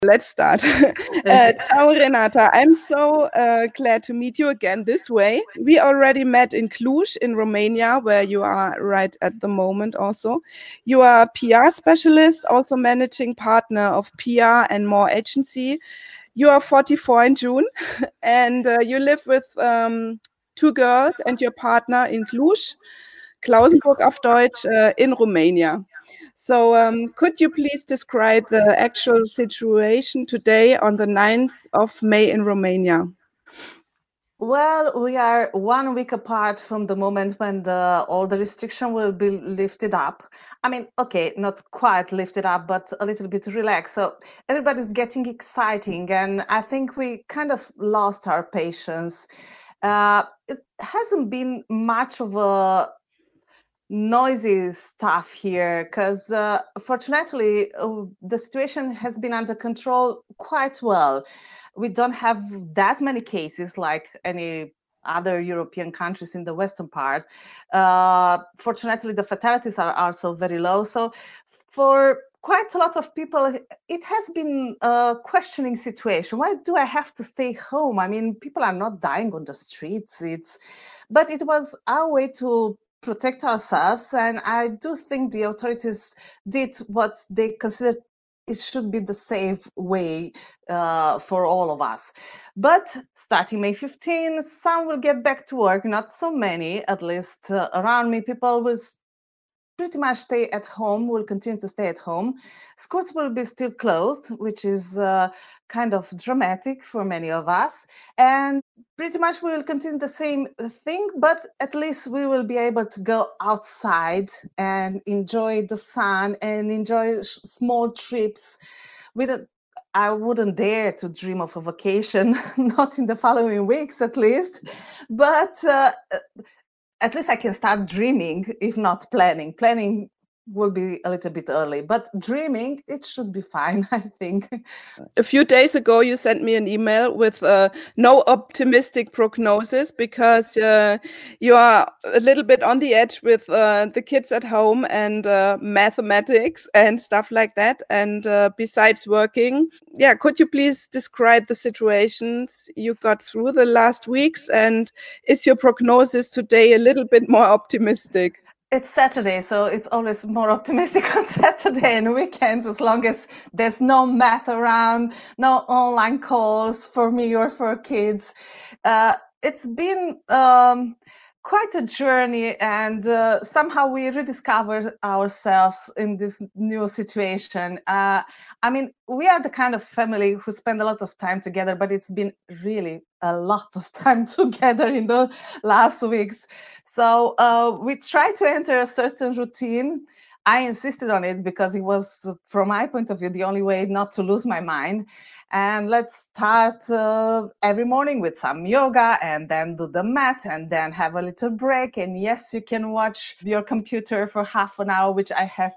Let's start. Ciao, Renata. I'm so glad to meet you again this way. We already met in Cluj in Romania, where you are right at the moment also. You are a PR specialist, also managing partner of PR and More Agency. You are 44 in June, and you live with two girls and your partner in Cluj, Klausenburg auf Deutsch, in Romania. So could you please describe the actual situation today on the 9th of May in Romania? Well, we are 1 week apart from the moment when all the restriction will be lifted up. I mean, okay, not quite lifted up, but a little bit relaxed. So everybody's getting exciting, and I think we kind of lost our patience. It hasn't been much of a noisy stuff here because fortunately the situation has been under control quite well. We don't have that many cases like any other European countries in the western part. Fortunately, the fatalities are also very low. So for quite a lot of people, it has been a questioning situation. Why do I have to stay home? I mean, people are not dying on the streets. But it was our way to protect ourselves, and I do think the authorities did what they considered it should be the safe way for all of us. But starting May 15, some will get back to work, not so many, at least around me. People will pretty much stay at home, will continue to stay at home. Schools will be still closed, which is kind of dramatic for many of us. And pretty much we will continue the same thing, but at least we will be able to go outside and enjoy the sun and enjoy small trips. I wouldn't dare to dream of a vacation, not in the following weeks at least, but at least I can start dreaming, if not planning. Planning will be a little bit early, but dreaming, it should be fine, I think. A few days ago, you sent me an email with no optimistic prognosis because you are a little bit on the edge with the kids at home and mathematics and stuff like that. And besides working, yeah, could you please describe the situations you got through the last weeks? And is your prognosis today a little bit more optimistic? It's Saturday, so it's always more optimistic on Saturday and weekends, as long as there's no math around, no online calls for me or for kids. It's been quite a journey, and somehow we rediscovered ourselves in this new situation. I mean, we are the kind of family who spend a lot of time together, but it's been really a lot of time together in the last weeks. So we tried to enter a certain routine. I insisted on it because it was, from my point of view, the only way not to lose my mind. And let's start every morning with some yoga and then do the mat and then have a little break. And yes, you can watch your computer for half an hour, which I have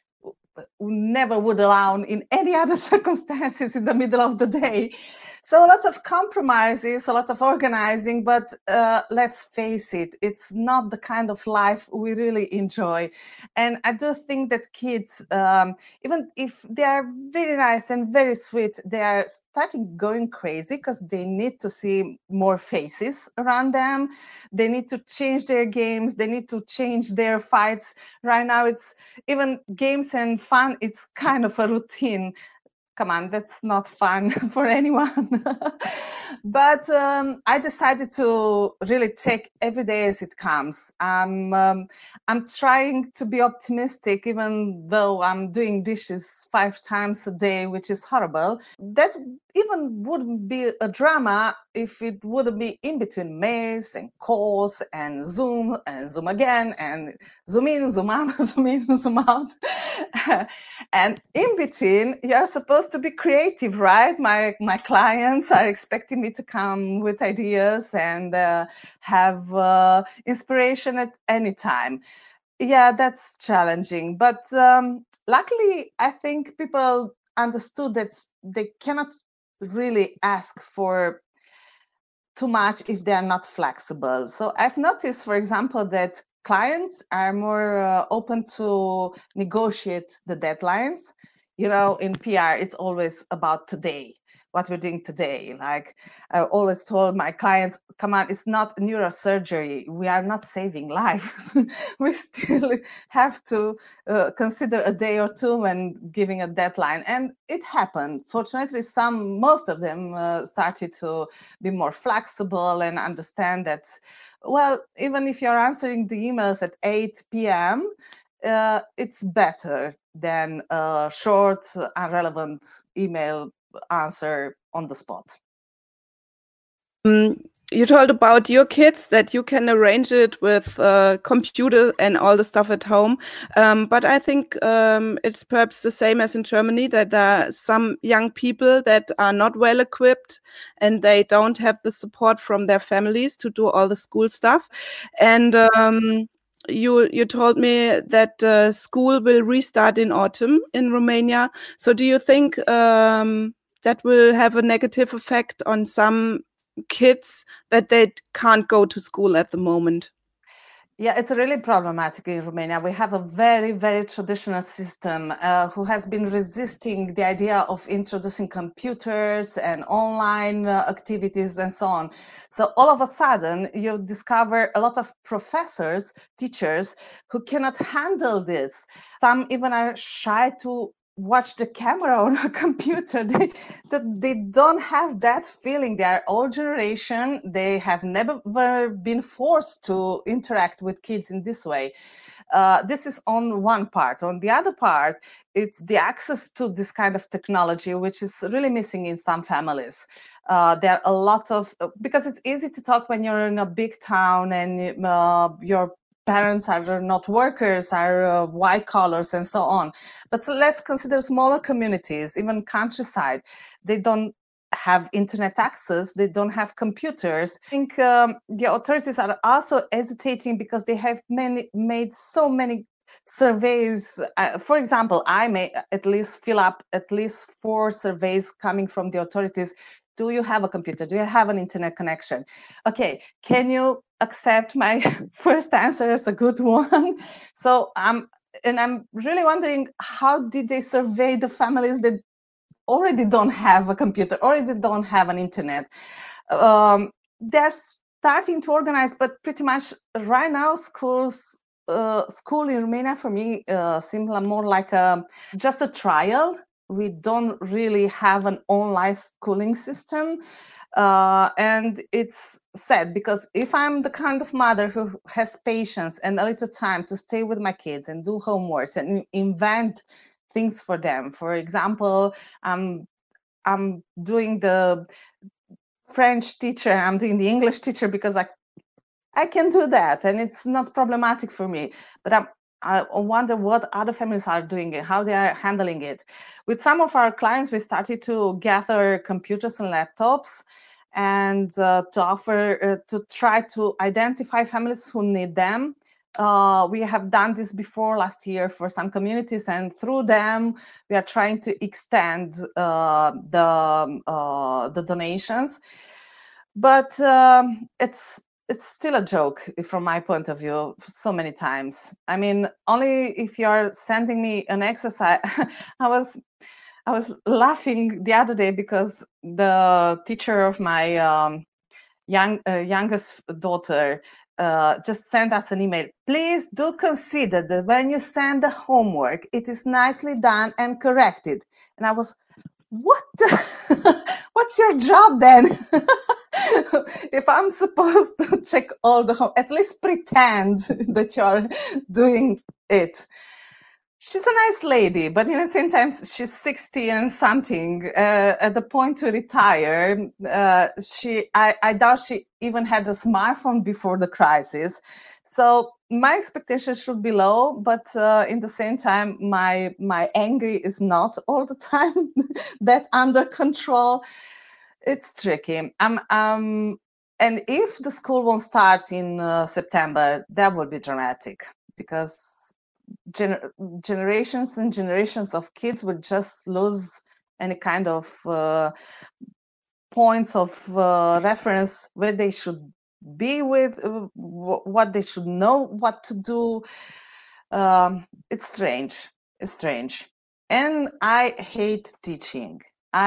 never would allow in any other circumstances in the middle of the day. So a lot of compromises, a lot of organizing, but let's face it, it's not the kind of life we really enjoy. And I do think that kids, even if they are very nice and very sweet, they are starting going crazy because they need to see more faces around them. They need to change their games. They need to change their fights. Right now, it's even games and fun. It's kind of a routine. Come on, that's not fun for anyone. But I decided to really take every day as it comes. I'm trying to be optimistic, even though I'm doing dishes 5 times a day, which is horrible. That even wouldn't be a drama if it wouldn't be in between mails and calls and Zoom again and Zoom in, Zoom out, Zoom in, Zoom out. And in between, you're supposed to be creative, right? My clients are expecting me to come with ideas and have inspiration at any time. Yeah, that's challenging. But luckily, I think people understood that they cannot really ask for too much if they are not flexible. So I've noticed, for example, that clients are more open to negotiate the deadlines. You know, in PR, it's always about today, what we're doing today. Like I always told my clients, come on, it's not neurosurgery. We are not saving lives. We still have to consider a day or two when giving a deadline. And it happened. Fortunately, most of them started to be more flexible and understand that, well, even if you're answering the emails at 8 p.m., it's better than a short, irrelevant email answer on the spot. You told about your kids that you can arrange it with computer and all the stuff at home. But I think it's perhaps the same as in Germany, that there are some young people that are not well equipped and they don't have the support from their families to do all the school stuff. And you told me that school will restart in autumn in Romania. So do you think that will have a negative effect on some kids that they can't go to school at the moment? Yeah, it's really problematic in Romania. We have a very, very traditional system who has been resisting the idea of introducing computers and online activities and so on. So all of a sudden, you discover a lot of professors, teachers who cannot handle this. Some even are shy to watch the camera on a computer. They don't have that feeling. They are old generation. They have never been forced to interact with kids in this way. This is on one part. On the other part, it's the access to this kind of technology, which is really missing in some families. There are a lot of, because it's easy to talk when you're in a big town and your parents are not workers, are white collars and so on. But so let's consider smaller communities, even countryside. They don't have internet access, they don't have computers. I think the authorities are also hesitating because they have made so many surveys. For example, I may at least fill up at least 4 surveys coming from the authorities. Do you have a computer? Do you have an internet connection? Okay, can you accept my first answer as a good one? So I'm really wondering, how did they survey the families that already don't have a computer, already don't have an internet? They're starting to organize, but pretty much right now school in Romania for me seems more like just a trial. We don't really have an online schooling system. And it's sad because if I'm the kind of mother who has patience and a little time to stay with my kids and do homeworks and invent things for them, for example, I'm doing the French teacher, I'm doing the English teacher because I can do that and it's not problematic for me. But I wonder what other families are doing and how they are handling it. With some of our clients, we started to gather computers and laptops and to offer, to try to identify families who need them. We have done this before last year for some communities, and through them, we are trying to extend the donations. But it's still a joke from my point of view so many times. I mean, only if you're sending me an exercise. I was laughing the other day because the teacher of my youngest daughter just sent us an email. Please do consider that when you send the homework, it is nicely done and corrected. And I was, what? What's your job then? If I'm supposed to check all the at least pretend that you're doing it. She's a nice lady, but in the same time, she's 60 and something. At the point to retire, I doubt she even had a smartphone before the crisis. So my expectations should be low, but in the same time, my anger is not all the time that under control. It's tricky. And if the school won't start in September, that would be dramatic because generations and generations of kids would just lose any kind of points of reference where they should be with, what they should know, what to do. It's strange. It's strange. And I hate teaching.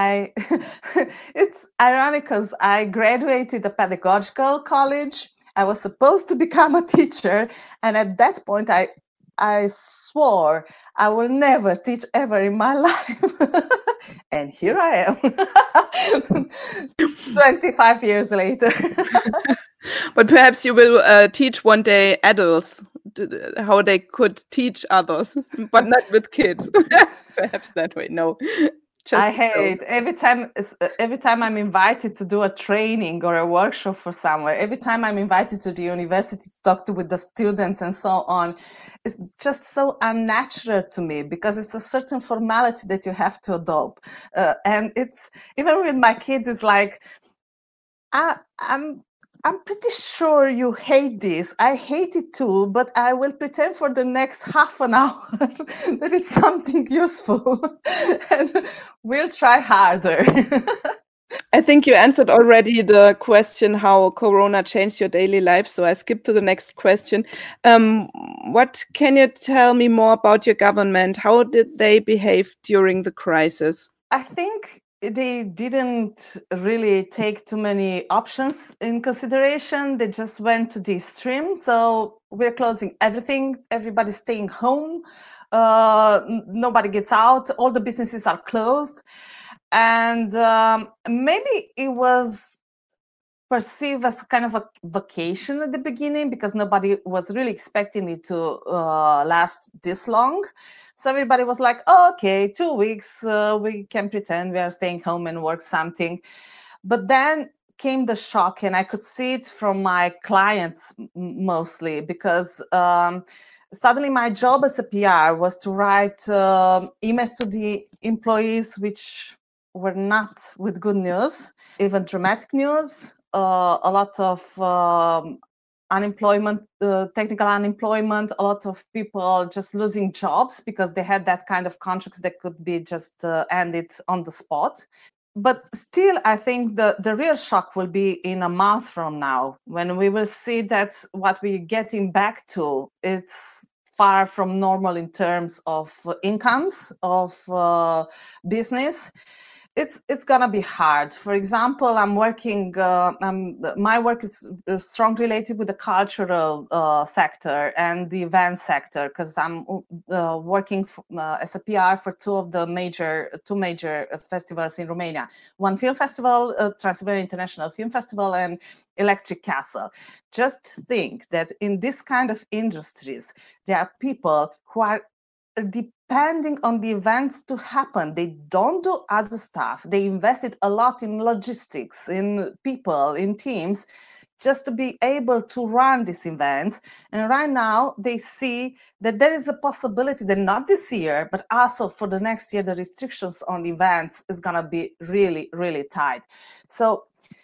It's ironic because I graduated a pedagogical college. I was supposed to become a teacher, and at that point, I swore I will never teach ever in my life. And here I am, 25 years later. But perhaps you will teach one day adults how they could teach others, but not with kids. Perhaps that way. No. I hate every time I'm invited to do a training or a workshop for somewhere, every time I'm invited to the university to talk with the students and so on, it's just so unnatural to me because it's a certain formality that you have to adopt. And it's even with my kids, it's like, I'm pretty sure you hate this. I hate it too, but I will pretend for the next half an hour that it's something useful and we'll try harder. I think you answered already the question how Corona changed your daily life. So I skip to the next question. What can you tell me more about your government? How did they behave during the crisis? I think they didn't really take too many options in consideration. They just went to the extreme. So we're closing everything. Everybody's staying home. Nobody gets out. All the businesses are closed. And maybe it was perceived as kind of a vacation at the beginning because nobody was really expecting it to last this long. So everybody was like, oh, okay, 2 weeks, we can pretend we are staying home and work something. But then came the shock, and I could see it from my clients mostly because suddenly my job as a PR was to write emails to the employees which were not with good news, even dramatic news, a lot of unemployment, technical unemployment, a lot of people just losing jobs because they had that kind of contracts that could be just ended on the spot. But still, I think the real shock will be in a month from now when we will see that what we're getting back to is far from normal in terms of incomes, of business. It's gonna be hard. For example, I'm working. My work is strongly related with the cultural sector and the event sector because I'm working as a PR for two major festivals in Romania. One film festival, Transylvania International Film Festival, and Electric Castle. Just think that in this kind of industries, there are people who are depending on the events to happen. They don't do other stuff. They invested a lot in logistics, in people, in teams, just to be able to run these events. And right now they see that there is a possibility that not this year, but also for the next year, the restrictions on events is gonna be really, really tight. So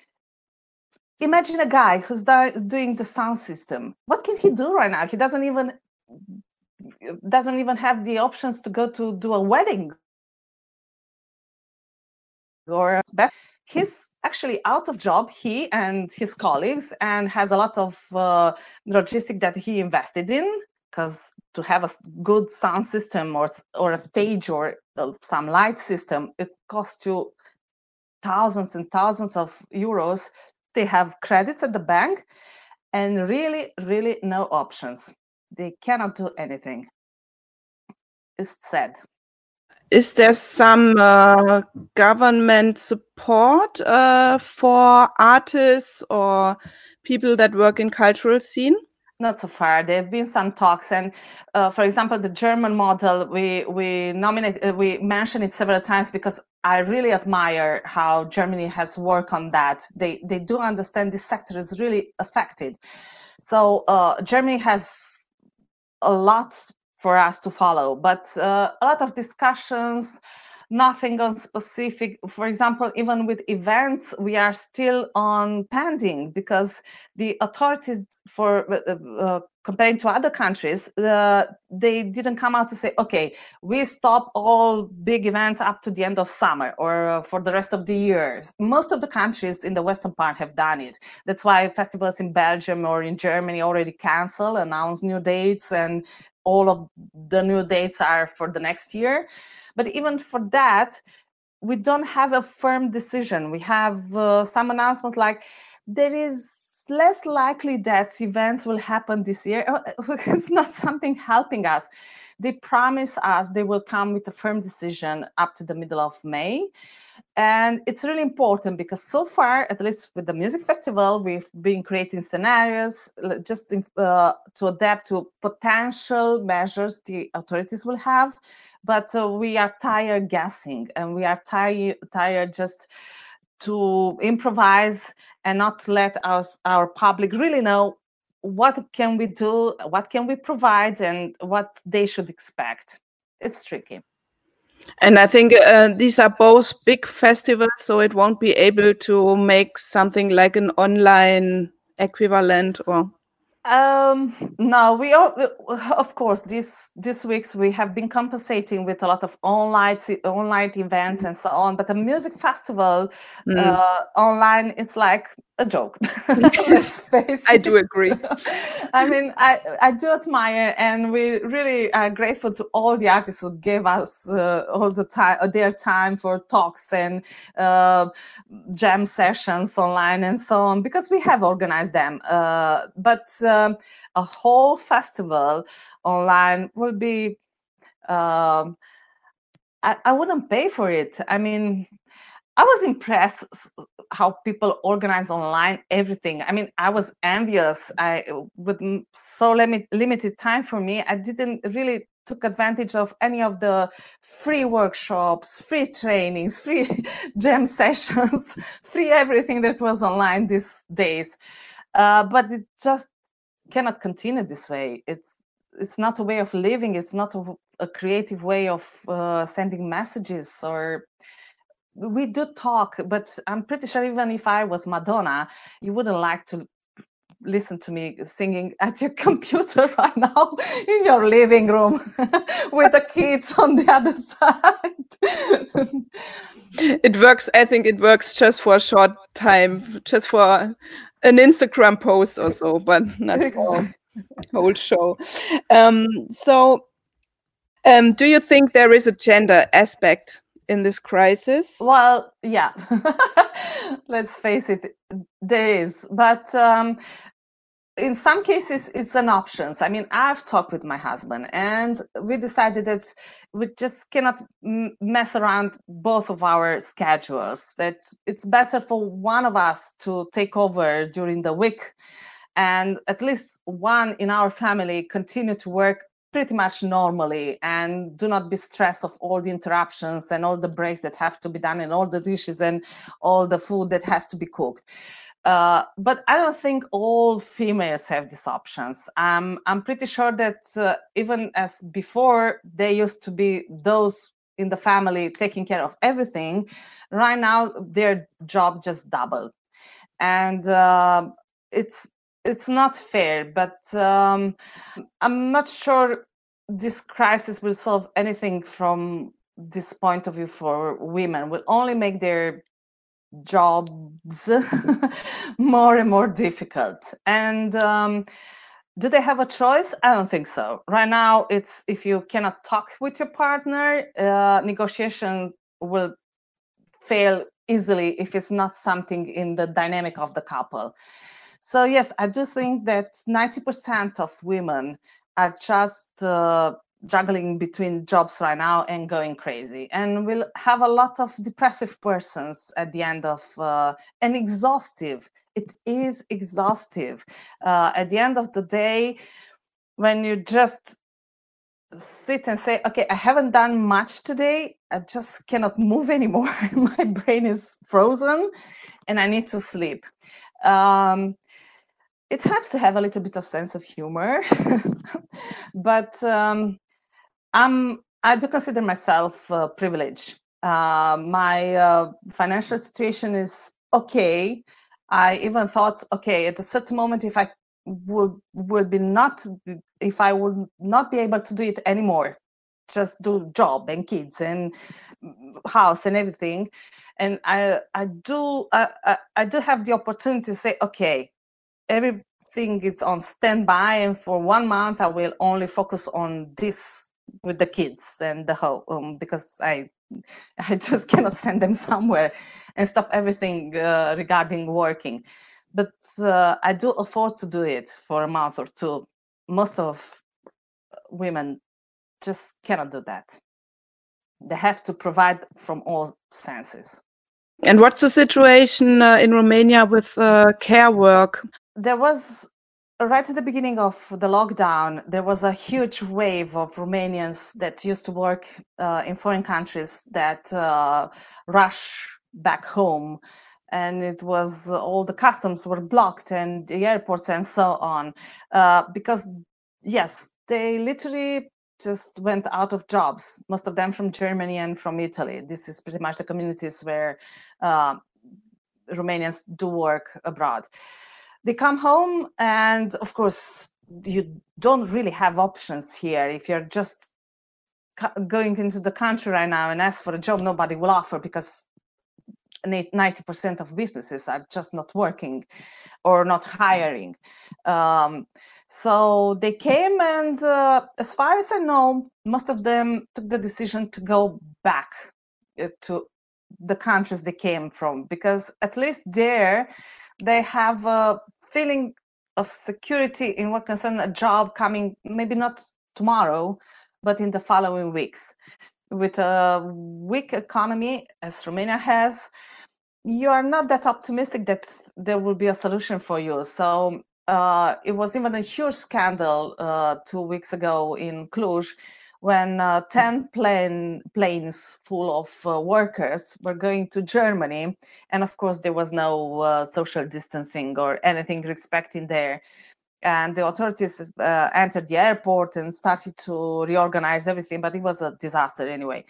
imagine a guy who's doing the sound system. What can he do right now? He doesn't even have the options to go to do a wedding or he's actually out of job, he and his colleagues, and has a lot of logistic that he invested in, because to have a good sound system or a stage or some light system, it costs you thousands and thousands of euros. They have credits at the bank and really, really no options. They cannot do anything. It's sad. Is there some government support for artists or people that work in cultural scene? Not so far. There have been some talks, and for example, the German model, we mention it several times because I really admire how Germany has worked on that. They do understand this sector is really affected. So Germany has a lot for us to follow, but a lot of discussions, nothing on specific. For example, even with events, we are still on pending because the authorities, for comparing to other countries, they didn't come out to say, okay, we stop all big events up to the end of summer or for the rest of the year. Most of the countries in the Western part have done it. That's why festivals in Belgium or in Germany already cancel, announce new dates, and all of the new dates are for the next year. But even for that, we don't have a firm decision. We have some announcements like there is less likely that events will happen this year. It's not something helping us. They promise us they will come with a firm decision up to the middle of May. And it's really important because so far, at least with the music festival, we've been creating scenarios just to adapt to potential measures the authorities will have. But we are tired guessing, and we are tired just to improvise and not let our public really know what can we do, what can we provide, and what they should expect. It's tricky. And I think these are both big festivals, so it won't be able to make something like an online equivalent, or no, we all, of course, this weeks we have been compensating with a lot of online events and so on. But the music festival online, it's like a joke. Let's face I do agree. I mean, I do admire, and we really are grateful to all the artists who gave us all the time, their time for talks and jam sessions online and so on, because we have organized them. But a whole festival online will be, I wouldn't pay for it. I mean, I was impressed how people organize online everything. I mean, I was envious. With so limited time for me, I didn't really took advantage of any of the free workshops, free trainings, free jam sessions, free everything that was online these days. But it just cannot continue this way. It's not a way of living. It's not a creative way of sending messages. Or we do talk, but I'm pretty sure even if I was Madonna, you wouldn't like to listen to me singing at your computer right now in your living room with the kids on the other side. It works. I think it works just for a short time, just for an Instagram post or so, but not for the whole show. Do you think there is a gender aspect in this crisis? Well, yeah. Let's face it, there is. But in some cases, it's an option. I mean, I've talked with my husband, and we decided that we just cannot mess around both of our schedules. That it's better for one of us to take over during the week, and at least one in our family continue to work pretty much normally and do not be stressed of all the interruptions and all the breaks that have to be done and all the dishes and all the food that has to be cooked. But I don't think all females have these options. I'm pretty sure that even as before, they used to be those in the family taking care of everything. Right now, their job just doubled. And it's not fair, but I'm not sure this crisis will solve anything from this point of view for women. Will only make their jobs more and more difficult. And do they have a choice? I don't think so. Right now, it's if you cannot talk with your partner, negotiation will fail easily if it's not something in the dynamic of the couple. So yes, I do think that 90% of women are just juggling between jobs right now and going crazy. And we'll have a lot of depressive persons at the end of, and exhaustive. It is exhaustive. At the end of the day, when you just sit and say, okay, I haven't done much today, I just cannot move anymore. My brain is frozen and I need to sleep. It helps to have a little bit of sense of humor, but I do consider myself privileged. My financial situation is okay. I even thought, okay, at a certain moment, if I would not be able to do it anymore, just do job and kids and house and everything, and I do have the opportunity to say, okay, everything is on standby, and for 1 month I will only focus on this with the kids and the home, because I just cannot send them somewhere and stop everything regarding working. But I do afford to do it for a month or two. Most of women just cannot do that. They have to provide from all senses. And what's the situation in Romania with care work? There was, right at the beginning of the lockdown, there was a huge wave of Romanians that used to work in foreign countries that rush back home. And it was all the customs were blocked and the airports and so on. Because, yes, they literally just went out of jobs, most of them from Germany and from Italy. This is pretty much the communities where Romanians do work abroad. They come home, and of course, you don't really have options here. If you're just going into the country right now and ask for a job, nobody will offer, because 90% of businesses are just not working or not hiring. So they came, and as far as I know, most of them took the decision to go back to the countries they came from, because at least there they have a feeling of security in what concerns a job coming, maybe not tomorrow, but in the following weeks. With a weak economy as Romania has, you are not that optimistic that there will be a solution for you. So it was even a huge scandal 2 weeks ago in Cluj, when 10 planes full of workers were going to Germany. And of course, there was no social distancing or anything respecting there. And the authorities entered the airport and started to reorganize everything, but it was a disaster anyway.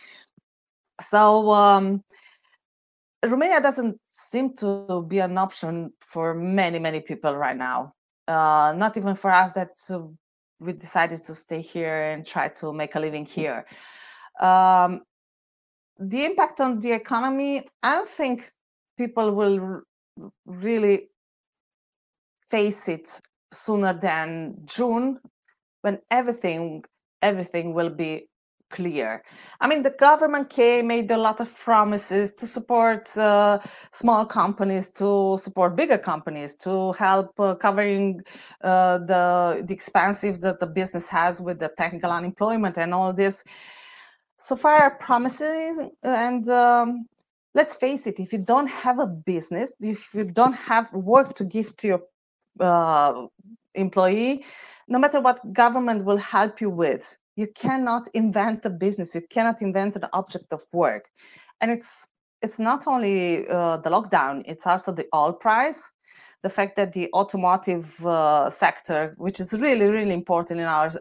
So Romania doesn't seem to be an option for many, many people right now. Not even for us that we decided to stay here and try to make a living here. The impact on the economy, I don't think people will really face it sooner than June, when everything will be clear. I mean, the government made a lot of promises to support small companies, to support bigger companies, to help covering the expenses that the business has with the technical unemployment and all this. So far, promises, and let's face it, if you don't have a business, if you don't have work to give to your employee, no matter what government will help you with, you cannot invent a business, you cannot invent an object of work. And it's not only the lockdown, it's also the oil price, the fact that the automotive sector, which is really, really important in our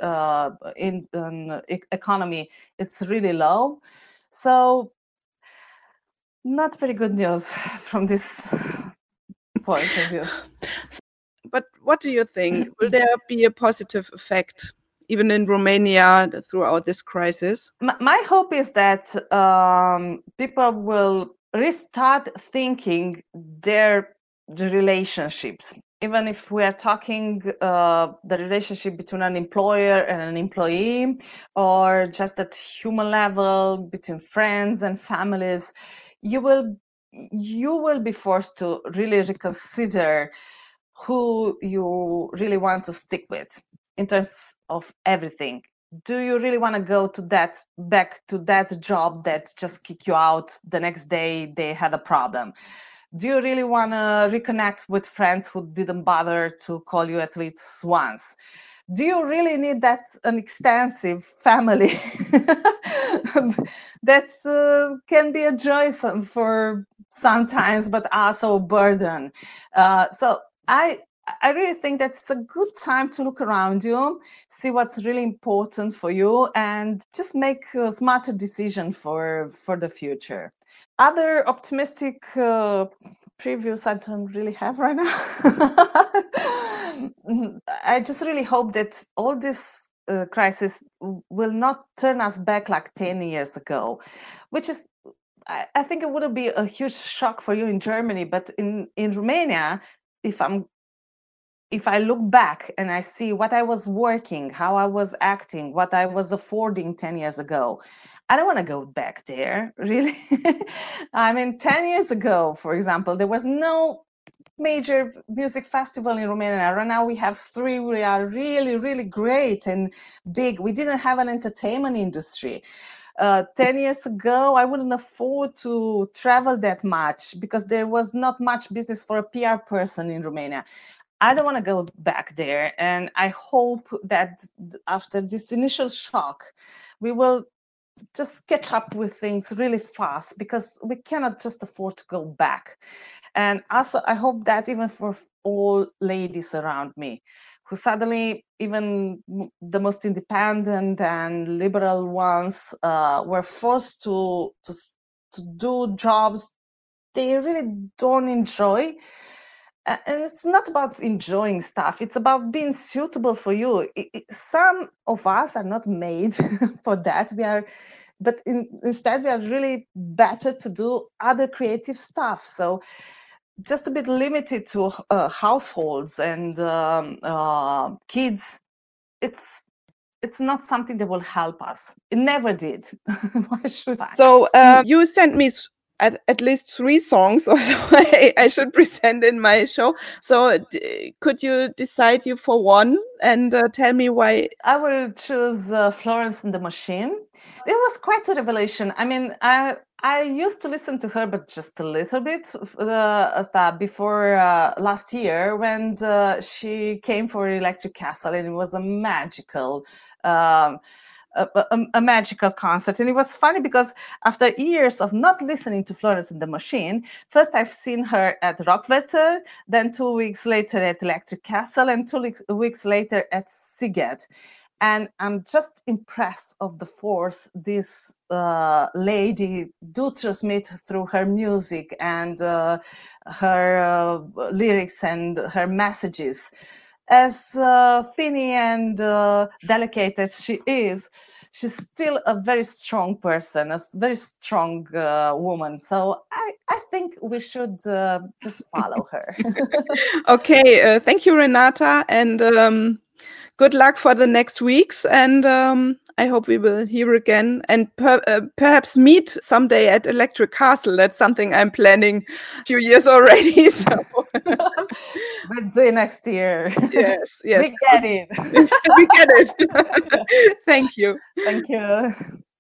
economy, it's really low. So not very good news from this point of view. But what do you think? Will there be a positive effect, even in Romania, throughout this crisis? My hope is that people will restart thinking their relationships. Even if we are talking the relationship between an employer and an employee, or just at human level between friends and families, you will be forced to really reconsider who you really want to stick with in terms of everything. Do you really want to go to back to that job that just kicked you out the next day they had a problem? Do you really want to reconnect with friends who didn't bother to call you at least once? Do you really need an extensive family that can be a joy for sometimes, but also a burden? So I really think that it's a good time to look around you, see what's really important for you, and just make a smarter decision for the future. Other optimistic previews I don't really have right now. I just really hope that all this crisis will not turn us back like 10 years ago, which is, I think it would be a huge shock for you in Germany, but in Romania, if I'm if I look back and I see what I was working, how I was acting, what I was affording 10 years ago, I don't want to go back there, really. I mean, 10 years ago, for example, there was no major music festival in Romania. Right now we have 3. We are really, really great and big. We didn't have an entertainment industry. 10 years ago, I wouldn't afford to travel that much because there was not much business for a PR person in Romania. I don't want to go back there. And I hope that after this initial shock, we will just catch up with things really fast, because we cannot just afford to go back. And also, I hope that even for all ladies around me, who suddenly, even the most independent and liberal ones, were forced to do jobs they really don't enjoy. And it's not about enjoying stuff. It's about being suitable for you. Some of us are not made for that. But instead we are really better to do other creative stuff. So just a bit limited to households and kids, it's not something that will help us. It never did. Why should I? So you sent me at least 3 songs, or so I should present in my show. So could you decide you for one and tell me why? I will choose Florence and the Machine. It was quite a revelation. I mean, I used to listen to her, but just a little bit before last year, when she came for Electric Castle, and it was a magical a magical concert. And it was funny because after years of not listening to Florence and the Machine, first I've seen her at Rockwetter, then 2 weeks later at Electric Castle, and 2 weeks later at Sziget. And I'm just impressed of the force this lady do transmit through her music and her lyrics and her messages. As thin and delicate as she is, she's still a very strong person, a very strong woman. So I think we should just follow her. Okay, thank you, Renata, and good luck for the next weeks. And I hope we will hear again and perhaps meet someday at Electric Castle. That's something I'm planning a few years already. So. We'll do it next year. Yes. We get it. We get it. Thank you. Thank you.